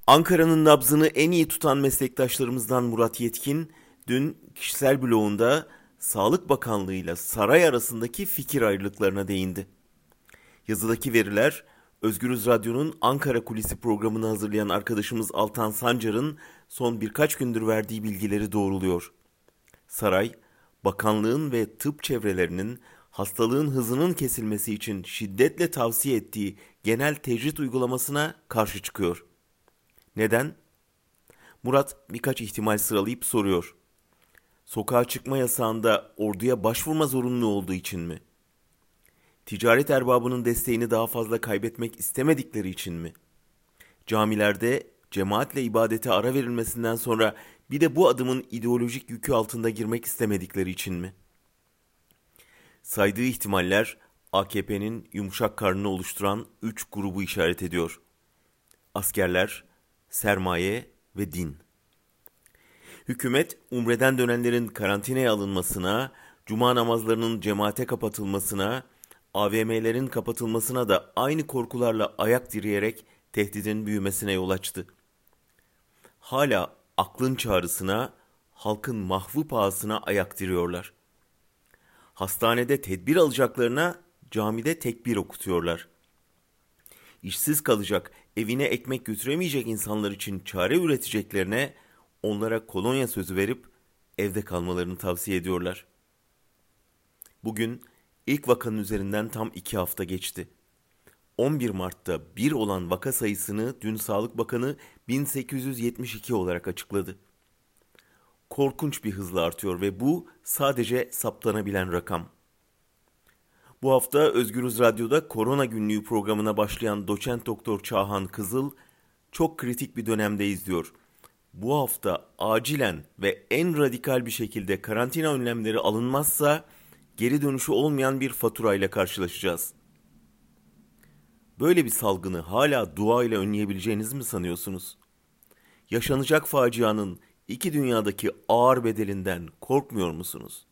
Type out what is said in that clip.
Ankara'nın nabzını en iyi tutan meslektaşlarımızdan Murat Yetkin, dün kişisel blogunda Sağlık Bakanlığı ile saray arasındaki fikir ayrılıklarına değindi. Yazıdaki veriler, Özgürüz Radyo'nun Ankara Kulisi programını hazırlayan arkadaşımız Altan Sancar'ın son birkaç gündür verdiği bilgileri doğruluyor. Saray, bakanlığın ve tıp çevrelerinin hastalığın hızının kesilmesi için şiddetle tavsiye ettiği genel tecrit uygulamasına karşı çıkıyor. Neden? Murat birkaç ihtimal sıralayıp soruyor. Sokağa çıkma yasağında orduya başvurma zorunlu olduğu için mi? Ticaret erbabının desteğini daha fazla kaybetmek istemedikleri için mi? Camilerde cemaatle ibadete ara verilmesinden sonra bir de bu adımın ideolojik yükü altında girmek istemedikleri için mi? Saydığı ihtimaller AKP'nin yumuşak karnını oluşturan 3 grubu işaret ediyor. Askerler, sermaye ve din. Hükümet, umreden dönenlerin karantinaya alınmasına, cuma namazlarının cemaate kapatılmasına, AVM'lerin kapatılmasına da aynı korkularla ayak direyerek tehdidin büyümesine yol açtı. Hala aklın çağrısına, halkın mahvı pahasına ayak diriyorlar. Hastanede tedbir alacaklarına camide tekbir okutuyorlar. İşsiz kalacak, evine ekmek götüremeyecek insanlar için çare üreteceklerine onlara kolonya sözü verip evde kalmalarını tavsiye ediyorlar. Bugün ilk vakanın üzerinden tam 2 hafta geçti. 11 Mart'ta 1 olan vaka sayısını dün Sağlık Bakanı 1872 olarak açıkladı. Korkunç bir hızla artıyor ve bu sadece saptanabilen rakam. Bu hafta Özgürüz Radyo'da Korona Günlüğü programına başlayan doçent doktor Çağhan Kızıl çok kritik bir dönemdeyiz diyor. Bu hafta acilen ve en radikal bir şekilde karantina önlemleri alınmazsa geri dönüşü olmayan bir faturayla karşılaşacağız. Böyle bir salgını hala dua ile önleyebileceğinizi mi sanıyorsunuz? Yaşanacak facianın iki dünyadaki ağır bedelinden korkmuyor musunuz?